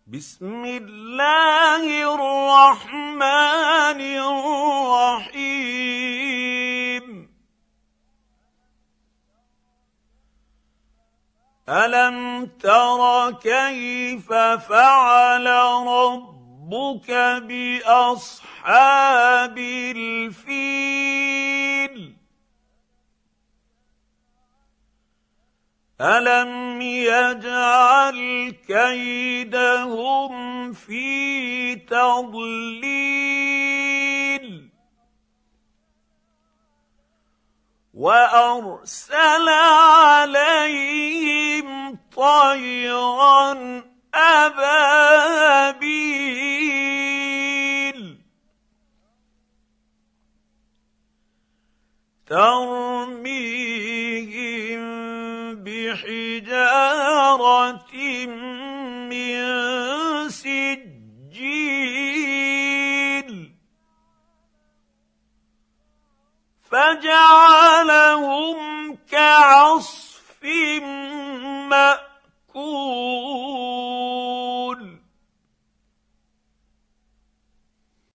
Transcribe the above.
بسم الله الرحمن الرحيم ألم تر كيف فعل ربك بأصحاب الفيل ألم يجعل كيدهم في تضليل وأرسل عليهم طيرا أبابيل ترميهم بحجارة من سجيل فجعلهم